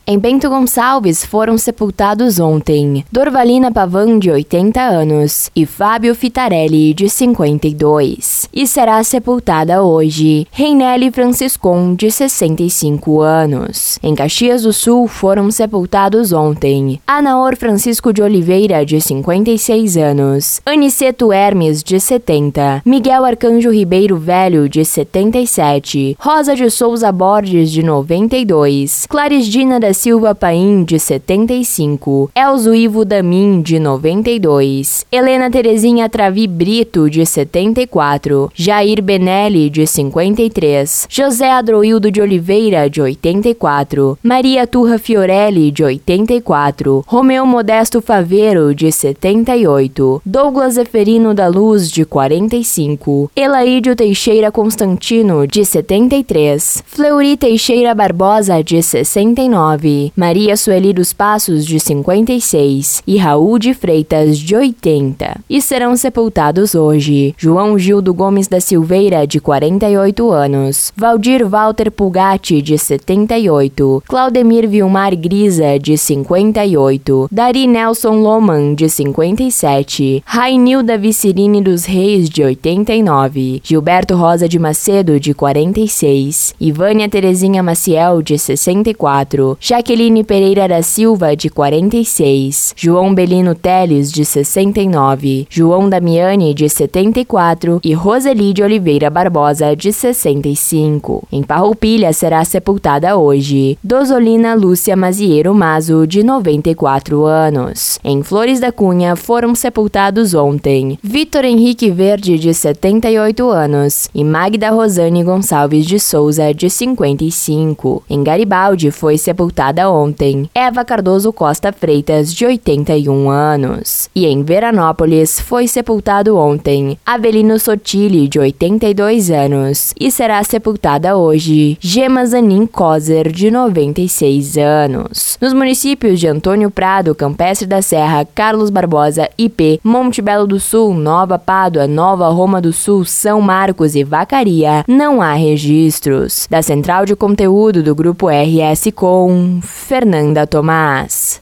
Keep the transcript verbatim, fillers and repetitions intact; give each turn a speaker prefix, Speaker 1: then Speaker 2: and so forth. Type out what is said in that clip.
Speaker 1: Em Bento Gonçalves foram sepultados ontem Dorvalina Pavan, de oitenta anos, e Fábio Fitarelli, de cinquenta e dois. E será sepultada hoje Reinele Franciscon, de sessenta e cinco anos. Em Caxias do Sul foram sepultados ontem Anaor Francisco de Oliveira, de cinquenta e seis anos, Aniceto Hermes, de setenta, Miguel Arcanjo Ribeiro Velho, de setenta e sete, Rosa de Souza Borges, de noventa e dois, Clarisdina da Silva Paim, de setenta e cinco, Elzo Ivo Damin, de noventa e dois, Helena Terezinha Travi Brito, de setenta e quatro, Jair Benelli, de cinquenta e três, José Adroildo de Oliveira, de oitenta e quatro, Maria Turra Fiorelli, de oitenta e quatro, Romeu Modesto Faveiro, de setenta e oito, Douglas Zeferino da Luz, de quarenta e cinco, Elaídio Teixeira Constantino, de setenta e três, Fleury Teixeira Barbosa, de sessenta e nove, Maria Sueli dos Passos, de cinquenta e seis, e Raul de Freitas, de oitenta. E serão sepultados hoje João Gildo Gomes da Silveira, de quarenta e oito anos, Valdir Walter Pulgatti, de setenta e oito, Claudemir Vilmar Grisa, de cinquenta e oito, Dari Nelson Loman, de cinquenta e sete, Rainilda Vicirine dos Reis, de oitenta e nove, Gilberto Rosa de Macedo, de quarenta e seis, Ivânia Terezinha Maciel, de sessenta e quatro, Jaqueline Pereira da Silva, de quarenta e seis, João Belino Teles, de sessenta e nove, João Damiani, de setenta e quatro e Roseli de Oliveira Barbosa, de sessenta e cinco. Em Farroupilha será sepultada hoje Dozolina Lúcia Mazieiro Mazo, de noventa e quatro anos. Em Flores da Cunha foram sepultados ontem Vitor Henrique Verde, de setenta e oito anos, e Magda Rosane Gonçalves de Souza, de cinquenta e cinco. Em Garibaldi foi sepultada ontem Eva Cardoso Costa Freitas, de oitenta e um anos. E em Veranópolis foi sepultado ontem Avelino Sotile, de oitenta e dois anos, e será sepultada hoje Gema Zanin Coser, de noventa e seis anos. Nos municípios de Antônio Prado, Campestre da Serra, Carlos Barbosa, I P, Monte Belo do Sul, Nova Pádua, Nova Roma do Sul, São Marcos e Vacaria, não há registros. Da Central de Conteúdo do Grupo R S Com, Fernanda Tomás.